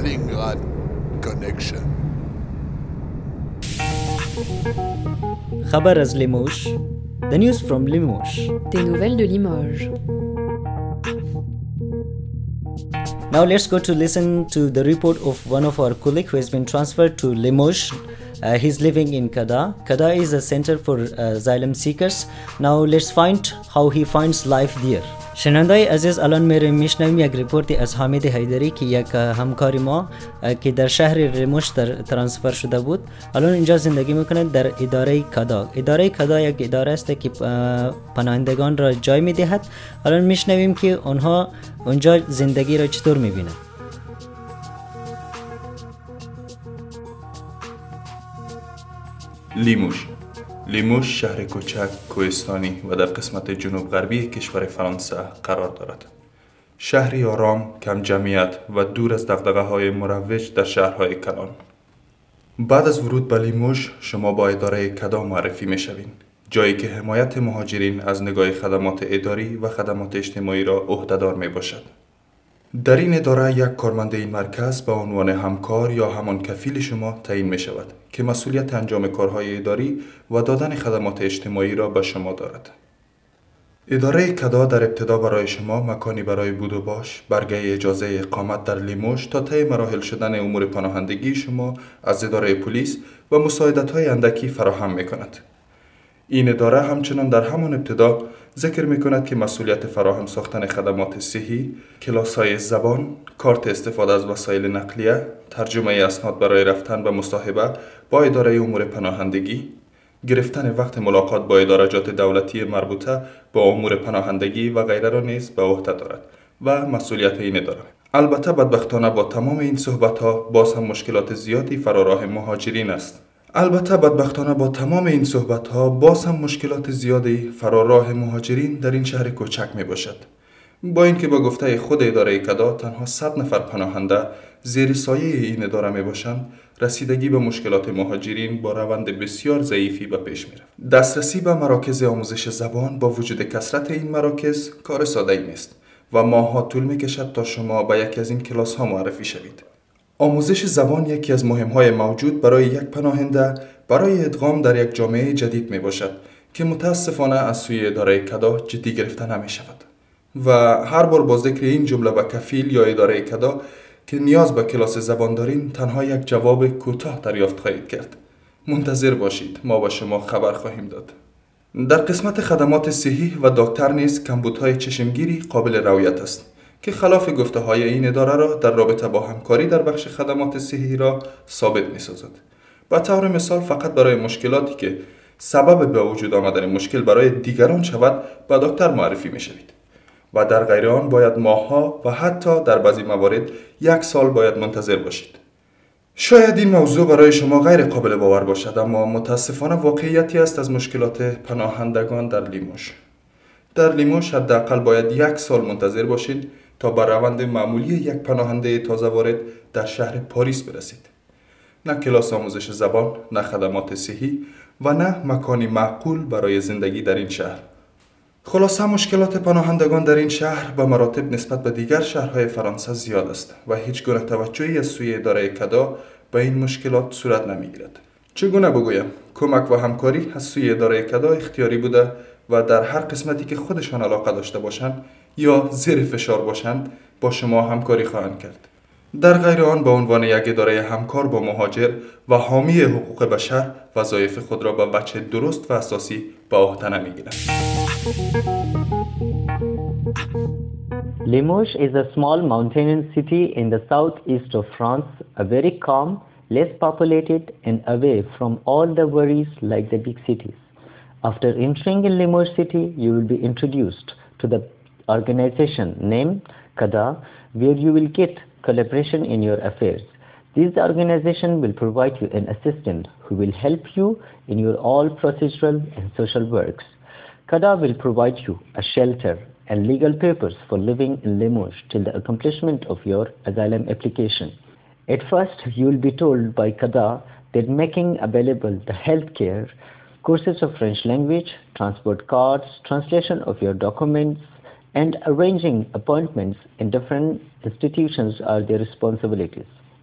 S18: Stalingrad Connection.
S4: خبر از Limoges. The news from Limoges.
S5: Des nouvelles de Limoges.
S4: Now let's go to listen to the report of one of our colleagues who has been transferred to Limoges. He's living in Kada. Kada is a center for asylum seekers. Now let's find how he finds life there. شنوندای عزیز الان میشنویم یک ریپورتی از حامد حیدری که یک همکار ما که در شهر لیموژ ترانسفر شده بود الان اینجا زندگی میکنه در اداره کدا. اداره کدا یک اداره است که پناهندگان را جای میدهد. الان میشنویم که اونها اونجا زندگی را چطور میبینند.
S2: لیموژ شهر کوچک کوهستانی و در قسمت جنوب غربی کشور فرانسه قرار دارد. شهری آرام، کم جمعیت و دور از دغدغه‌های مروج در شهرهای کلان. بعد از ورود به لیموژ شما با اداره کدا معرفی می‌شوید، جایی که حمایت مهاجرین از نگاه خدمات اداری و خدمات اجتماعی را عهده‌دار میباشد. در این اداره یک کارمند این مرکز به عنوان همکار یا همان کفیل شما تعیین می شود که مسئولیت انجام کارهای اداری و دادن خدمات اجتماعی را به شما دارد. اداره کدا در ابتدا برای شما مکانی برای بود و باش، برگه اجازه اقامت در لیموژ تا طی مراحل شدن امور پناهندگی شما از اداره پلیس و مساعدت‌های اندکی فراهم می کند. این اداره همچنان در همان ابتدا ذکر می کند که مسئولیت فراهم ساختن خدمات صحی، کلاس‌های زبان، کارت استفاده از وسایل نقلیه، ترجمه اسناد برای رفتن به مصاحبه با اداره امور پناهندگی، گرفتن وقت ملاقات با ادارجات دولتی مربوطه با امور پناهندگی و غیره را نیز به عهده دارد و مسئولیت این اداره. البته بدبختانه با تمام این صحبت‌ها باز هم مشکلات زیادی فراراه مهاجرین است. در این شهر کوچک می باشد. با اینکه با گفته خود اداره کدا تنها 100 نفر پناهنده زیر سایه این اداره می باشند، رسیدگی به مشکلات مهاجرین با روند بسیار ضعیفی به پیش می رفت. دسترسی به مراکز آموزش زبان با وجود کثرت این مراکز کار ساده‌ای نیست و ماه‌ها طول می کشد تا شما به یکی از این کلاس ها معرفی شوید. آموزش زبان یکی از مهم‌های موجود برای یک پناهنده برای ادغام در یک جامعه جدید می باشد که متاسفانه از سوی اداره کدا جدی گرفته نمی شود. و هر بار با ذکر این جمله به کفیل یا اداره کدا که نیاز به کلاس زبان دارین تنها یک جواب کوتاه دریافت خواهید کرد: منتظر باشید، ما با شما خبر خواهیم داد. در قسمت خدمات صحی و دکتر نیز کمبودهای چشمگیری قابل رویت است که خلاف گفته های این اداره را در رابطه با همکاری در بخش خدمات صحی را ثابت می سازد. به طور مثال فقط برای مشکلاتی که سبب به وجود آمدن مشکل برای دیگران شود به دکتر معرفی می شوید و در غیر آن باید ماه‌ها و حتی در بعضی موارد 1 سال باید منتظر باشید. شاید این موضوع برای شما غیر قابل باور باشد، اما متاسفانه واقعیتی است از مشکلات پناهندگان در لیموژ. در لیموژ حداقل باید 1 سال منتظر باشید تا به روند معمولی یک پناهنده تازه وارد در شهر پاریس برسید. نه کلاس آموزش زبان، نه خدمات صحی و نه مکانی معقول برای زندگی در این شهر. خلاصه مشکلات پناهندگان در این شهر به مراتب نسبت به دیگر شهرهای فرانسه زیاد است و هیچ گونه توجهی از سوی اداره کدا به این مشکلات صورت نمیگیرد. چگونه بگویم؟ کمک و همکاری از سوی اداره کدا اختیاری بوده و در هر قسمتی که خودشان علاقه داشته باشند یا زیر فشار باشند با شما همکاری خواهند کرد. در غیر آن به عنوان یک اداره همکار با مهاجر و حامی حقوق بشر وظایف خود را به وجه درست و اساسی به عهده نمیگیرند.
S20: Limoges is a small mountainous city in the southeast of France, a very calm, less populated and away from all the worries like the big cities. After entering in Limoges city, you will be introduced to the organization named Kada, where you will get collaboration in your affairs. This organization will provide you an assistant who will help you in your all procedural and social works. Kada will provide you a shelter and legal papers for living in Limoges till the accomplishment of your asylum application. At first, you will be told by Kada that making available the health care, courses of French language, transport cards, translation of your documents, and arranging appointments in different institutions are their responsibilities.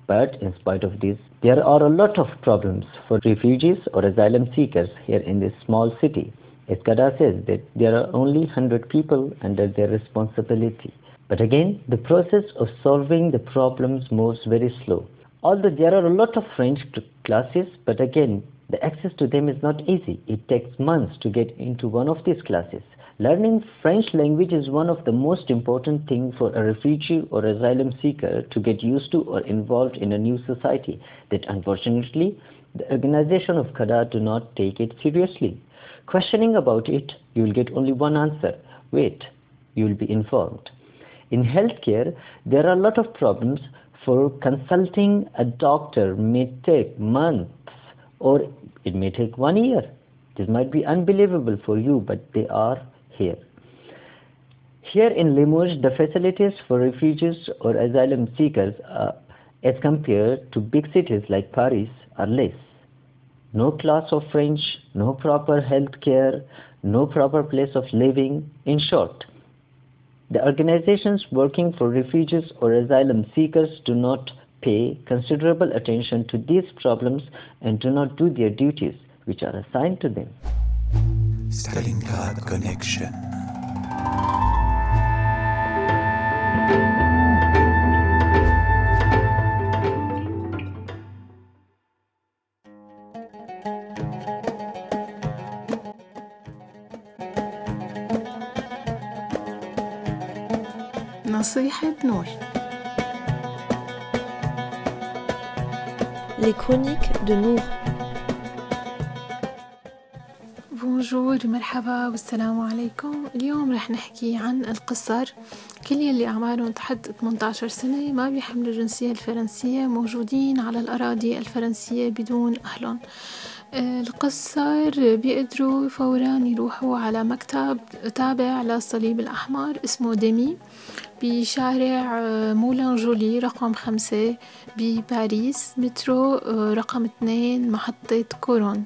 S20: But in spite of this, there are a lot of problems for refugees or asylum seekers here in this small city. Eskada says that there are only 100 people under their responsibility. But again, the process of solving the problems moves very slow. Although there are a lot of French classes, but again, the access to them is not easy. It takes months to get into one of these classes. Learning French language is one of the most important things for a refugee or asylum seeker to get used to or involved in a new society that unfortunately the organization of Khada do not take it seriously. Questioning about it, you will get only one answer. Wait, you will be informed. In healthcare, there are a lot of problems. For consulting a doctor may take months or it may take 1 year. This might be unbelievable for you, but they are here. Here in Limoges, the facilities for refugees or asylum seekers as compared to big cities like Paris are less. No class of French, no proper health care, no proper place of living. In short, the organizations working for refugees or asylum seekers do not pay considerable attention to these problems and do not do their duties which are assigned to them.
S18: Stalingrad Connection.
S1: نصيحة نور.
S5: Les chroniques de Nour.
S21: بونجور، مرحبا والسلام عليكم. اليوم رح نحكي عن القصر. كل يلي أعمارهم تحت 18 سنة ما بيحملوا الجنسية الفرنسية موجودين على الأراضي الفرنسية بدون أهلهم. القصر بيقدروا فورا يروحوا على مكتب تابع للصليب الأحمر اسمه ديمي بشارع مولان جولي رقم 5 بباريس، مترو رقم 2 محطة كورون.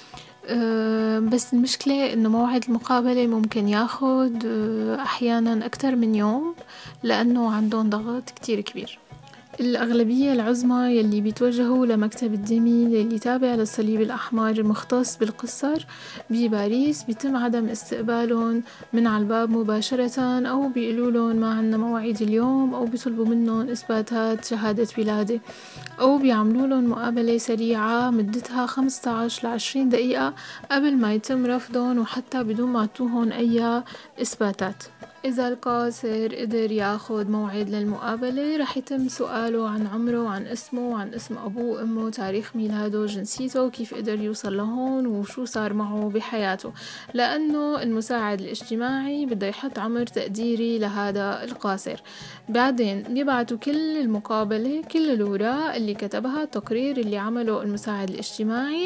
S21: بس المشكلة إنه موعد المقابلة ممكن ياخد أحيانا أكتر من يوم لأنه عندهم ضغط كتير كبير. الأغلبية العظمى يلي بيتوجهوا لمكتب الديمي اللي تابع للصليب الأحمر المختص بالقصر بباريس بيتم عدم استقبالهم من على الباب مباشرة، أو بيقولوا لهم ما عنا موعد اليوم، أو بيطلبوا منهم إثباتات شهادة ولادة، أو بيعملوا لهم مقابلة سريعة مدتها 15 ل 20 دقيقة قبل ما يتم رفضهم وحتى بدون ما تعطوهم أي إثباتات. إذا القاصر قدر ياخد موعد للمقابلة رح يتم سؤاله عن عمره وعن اسمه وعن اسم أبوه وأمه، تاريخ ميلاده، جنسيته، كيف قدر يوصل لهون وشو صار معه بحياته، لأنه المساعد الاجتماعي بده يحط عمر تقديري لهذا القاصر. بعدين بيبعتوا كل المقابلة، كل الأوراق اللي كتبها، التقرير اللي عمله المساعد الاجتماعي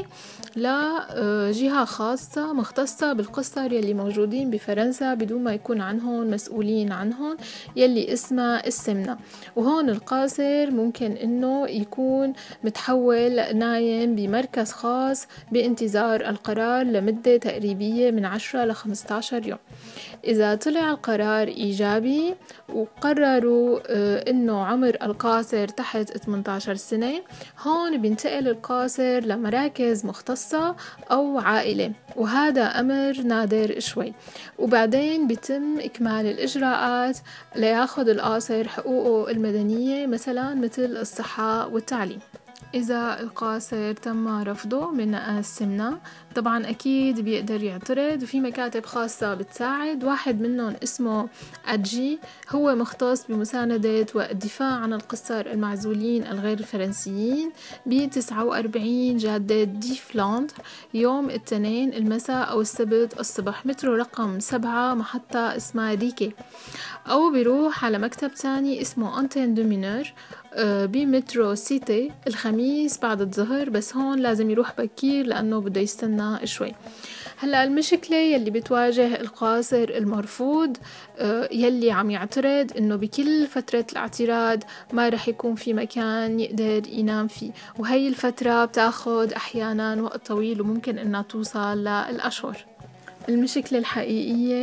S21: لجهة خاصة مختصة بالقصر يلي موجودين بفرنسا بدون ما يكون عنهم مسؤولين عنهم، يلي اسمها السمنة. وهون القاصر ممكن انه يكون متحول نايم بمركز خاص بانتظار القرار لمدة تقريبية من 10 ل 15 يوم. إذا طلع القرار إيجابي وقرروا إنه عمر القاصر تحت 18 سنة، هون بينتقل القاصر لمراكز مختصة أو عائلة، وهذا أمر نادر شوي. وبعدين بيتم إكمال الإجراءات لياخد القاصر حقوقه المدنية، مثلا مثل الصحة والتعليم. إذا القاصر تم رفضه من السمنة طبعا أكيد بيقدر يعترض، وفي مكاتب خاصة بتساعد. واحد منهم اسمه أدجي، هو مختص بمساندة والدفاع عن القصر المعزولين الغير فرنسيين ب 49 جادة دي فلاندر يوم الاثنين المساء أو السبت الصبح، مترو رقم 7 محطة اسمها ريكي. أو بيروح على مكتب تاني اسمه أنتين دو مينور بمترو سيتي الخميس بعد الظهر، بس هون لازم يروح بكير لأنه بده يستنى شوي. هلأ المشكلة يلي بتواجه القاصر المرفوض يلي عم يعترض إنه بكل فترة الاعتراض ما رح يكون في مكان يقدر ينام فيه، وهي الفترة بتاخد أحيانا وقت طويل وممكن إنها توصل للأشهر. المشكلة الحقيقية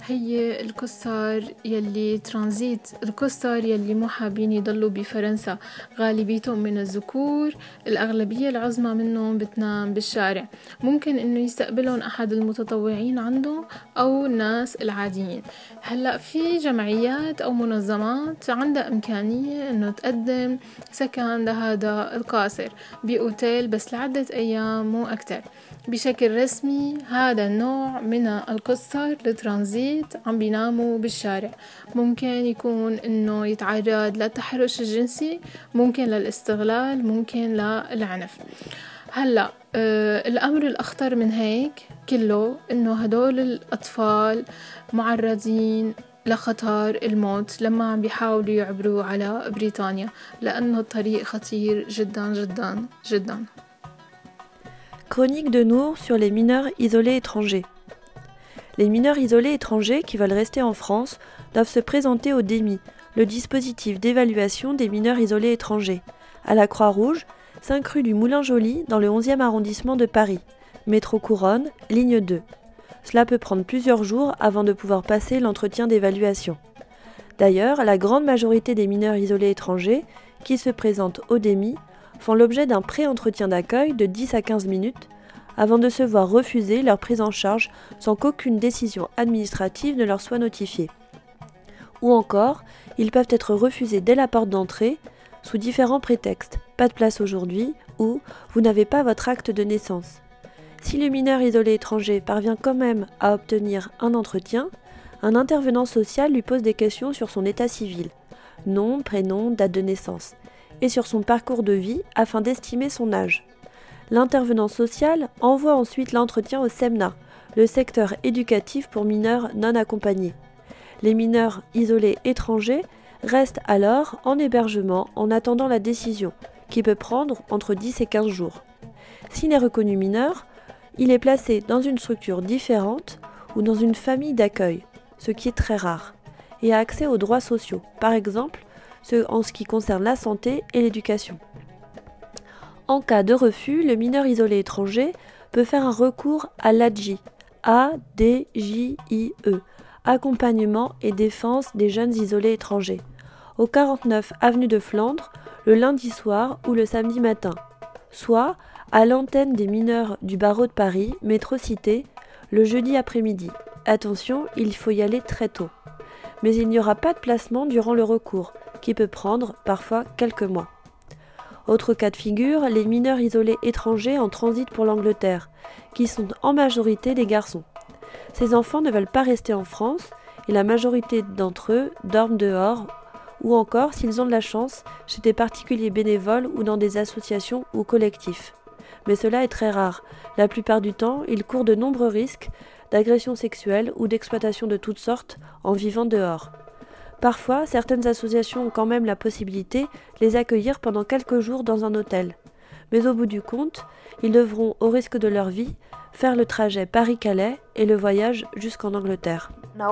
S21: هي القصار يلي ترانزيت، القصار يلي مو حابين يضلوا بفرنسا، غالبيتهم من الذكور، الأغلبية العظمى منهم بتنام بالشارع. ممكن إنه يستقبلهم أحد المتطوعين عندهم أو الناس العاديين. هلأ في جمعيات أو منظمات عندها إمكانية إنه تقدم سكن لهذا القاصر بأوتيل بس لعدة أيام مو أكتر. بشكل رسمي هذا النوع من القصر لترانزيت عم بيناموا بالشارع. ممكن يكون إنه يتعرض للتحرش الجنسي، ممكن للاستغلال، ممكن للعنف. هلأ الأمر الأخطر من هيك كله إنه هدول الأطفال معرضين لخطر الموت لما عم بيحاولوا يعبروا على بريطانيا، لأنه الطريق خطير جدا جدا جدا.
S3: Chronique de Nour sur les mineurs isolés étrangers. Les mineurs isolés étrangers qui veulent rester en France doivent se présenter au DEMI, le dispositif d'évaluation des mineurs isolés étrangers, à la Croix-Rouge, 5 rue du Moulin-Joly, dans le 11e arrondissement de Paris, métro Couronne, ligne 2. Cela peut prendre plusieurs jours avant de pouvoir passer l'entretien d'évaluation. D'ailleurs, la grande majorité des mineurs isolés étrangers qui se présentent au DEMI font l'objet d'un pré-entretien d'accueil de 10 à 15 minutes avant de se voir refuser leur prise en charge sans qu'aucune décision administrative ne leur soit notifiée. Ou encore, ils peuvent être refusés dès la porte d'entrée sous différents prétextes, pas de place aujourd'hui ou vous n'avez pas votre acte de naissance. Si le mineur isolé étranger parvient quand même à obtenir un entretien, un intervenant social lui pose des questions sur son état civil, nom, prénom, date de naissance, et sur son parcours de vie afin d'estimer son âge. L'intervenant social envoie ensuite l'entretien au SEMNA, le secteur éducatif pour mineurs non accompagnés. Les mineurs isolés étrangers restent alors en hébergement en attendant la décision, qui peut prendre entre 10 et 15 jours. S'il est reconnu mineur, il est placé dans une structure différente ou dans une famille d'accueil, ce qui est très rare, et a accès aux droits sociaux, par exemple en ce qui concerne la santé et l'éducation. En cas de refus, le mineur isolé étranger peut faire un recours à l'ADJIE, A-D-J-I-E, Accompagnement et défense des jeunes isolés étrangers, au 49 avenue de Flandre, le lundi soir ou le samedi matin, soit à l'antenne des mineurs du barreau de Paris, métro Cité, le jeudi après-midi. Attention, il faut y aller très tôt. Mais il n'y aura pas de placement durant le recours, qui peut prendre parfois quelques mois. Autre cas de figure, les mineurs isolés étrangers en transit pour l'Angleterre, qui sont en majorité des garçons. Ces enfants ne veulent pas rester en France et la majorité d'entre eux dorment dehors ou encore, s'ils ont de la chance, chez des particuliers bénévoles ou dans des associations ou collectifs. Mais cela est très rare. La plupart du temps, ils courent de nombreux risques d'agression sexuelle ou d'exploitation de toutes sortes en vivant dehors. Parfois, certaines associations ont quand même la possibilité de les accueillir pendant quelques jours dans un hôtel. Mais au bout du compte, ils devront, au risque de leur vie, faire le trajet Paris-Calais et le voyage jusqu'en Angleterre.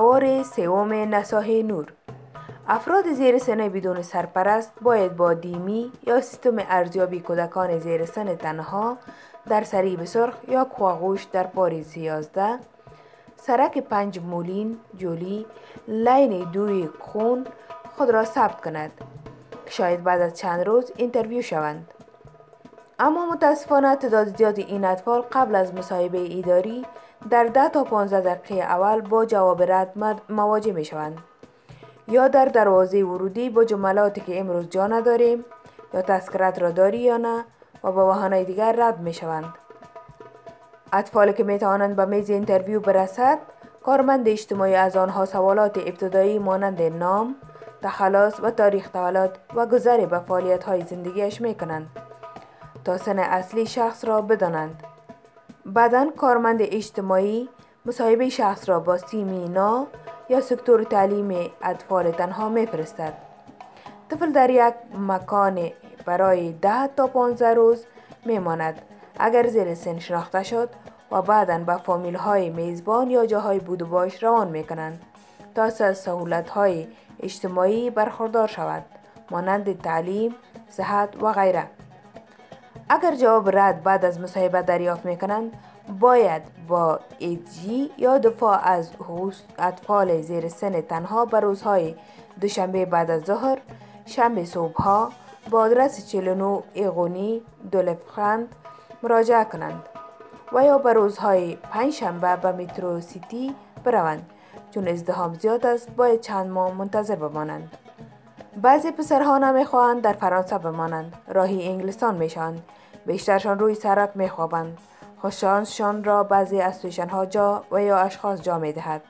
S17: افراد زیر سن بدون سرپرست باید با دیمی یا سیستم ارزیابی کودکان زیر سن تنها در سریب سرخ یا کواغوش در پاریس 11 سرک 5 مولین جولی لین 2 خون خود را ثبت کند که شاید بعد از چند روز اینترویو شوند. اما متاسفانه تعداد زیادی این اطفال قبل از مصاحبه اداری در 10 تا 15 دقیقه اول با جواب رد مواجه می شوند. یا در دروازه ورودی با جملاتی که امروز جا نداریم یا تذکرت را داری یا نه و با بهانه‌های دیگر رد می شوند. اطفالی که می توانند به میز اینترویو برسد، کارمند اجتماعی از آنها سوالات ابتدایی مانند نام، تخلص و تاریخ تولد و گذر به فعالیت‌های زندگیش می کنند تا سن اصلی شخص را بدانند. بعداً کارمند اجتماعی مصاحبه شخص را با سیمینا یا سکتور تعلیم اطفال تنها میفرستد. طفل در یک مکان برای 10 تا 15 روز میماند اگر زیر سن شناخته شد و بعداً به فامیل های میزبان یا جاهای بود و باش روان میکنند تا از سهولت های اجتماعی برخوردار شود مانند تعلیم، صحت و غیره. اگر جواب رد بعد از مصاحبه دریافت میکنند باید با ایدجی یا دفاع از حقوق اطفال زیر سن تنها به روزهای دوشنبه بعد از ظهر، شنبه صبحها با آدرس 49 ایغونی دولفخند مراجعه کنند و یا به روزهای پنجشنبه به مترو سیتی بروند. چون ازدحام زیاد است باید چند ماه منتظر بمانند. بعضی پسرها نمیخواهند در فرانسه بمانند، راهی انگلستان میشوند. بیشترشان روی سرک میخوابند. خوششانسشان را بعضی از سویشانها جا و یا اشخاص جا میدهد.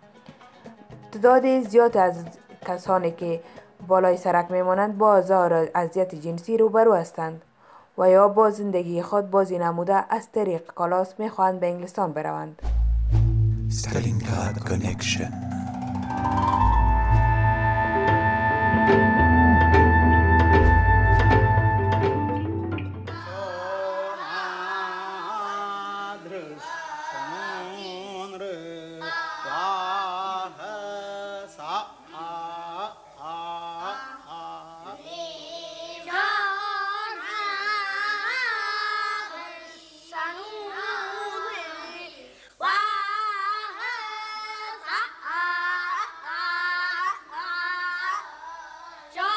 S17: تعداد زیاد از کسانی که بالای سرک میمانند با آزار و اذیت جنسی روبرو هستند و یا با زندگی خود بازی نموده از طریق کالاس میخواهند به انگلستان بروند.
S18: Stalingrad Connection.
S7: John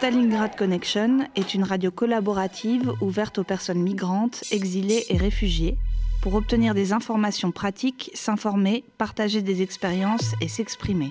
S1: Stalingrad Connection est une radio collaborative ouverte aux personnes migrantes, exilées et réfugiées pour obtenir des informations pratiques, s'informer, partager des expériences et s'exprimer.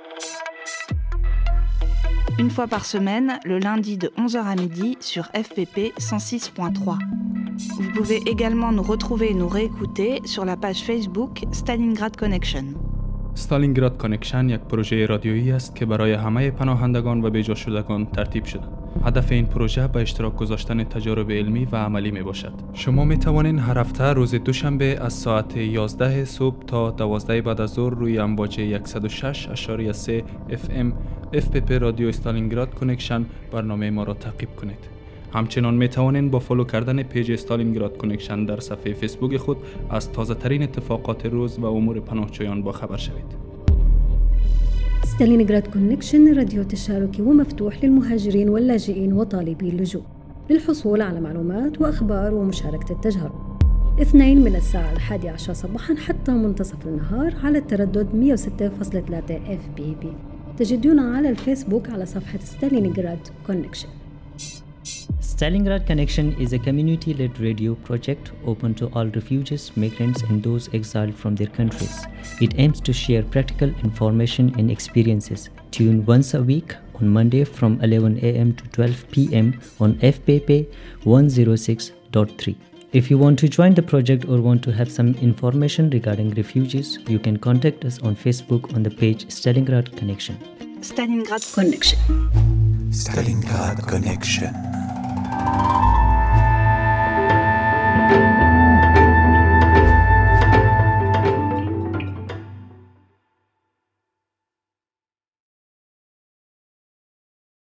S1: Une fois par semaine, le lundi de 11h à midi sur FPP 106.3. Vous pouvez également nous retrouver et nous réécouter sur la page Facebook Stalingrad Connection.
S2: استالینگراد کانکشن یک پروژه رادیویی است که برای همه پناهندگان و بیجا شدگان ترتیب شده. هدف این پروژه به اشتراک گذاشتن تجارب علمی و عملی می باشد. شما می توانید هر هفته روز دوشنبه از ساعت 11 صبح تا 12 بعد از ظهر روی امواج 106.3 FM FPP رادیو استالینگراد کانکشن برنامه ما را تعقیب کنید. همچنان می توانید با فالو کردن پیج استالینگراد کانکشن در صفحه فیسبوک خود از تازه ترین اتفاقات روز و امور پناهجویان با خبر شوید.
S7: ستالينغراد كونكشن راديو تشاركي ومفتوح للمهاجرين واللاجئين وطالبي اللجوء للحصول على معلومات وأخبار ومشاركة التجارب. 2 من الساعة 11 صباحا حتى منتصف النهار على التردد 106.3 FPP. تجدونا على الفيسبوك على صفحة ستالينغراد كونكشن.
S4: Stalingrad Connection is a community-led radio project open to all refugees, migrants and those exiled from their countries. It aims to share practical information and experiences. Tune once a week on Monday from 11 a.m. to 12 p.m. on FPP 106.3. If you want to join the project or want to have some information regarding refugees, you can contact us on Facebook on the page Stalingrad Connection.
S1: Stalingrad Connection.
S18: Stalingrad Connection.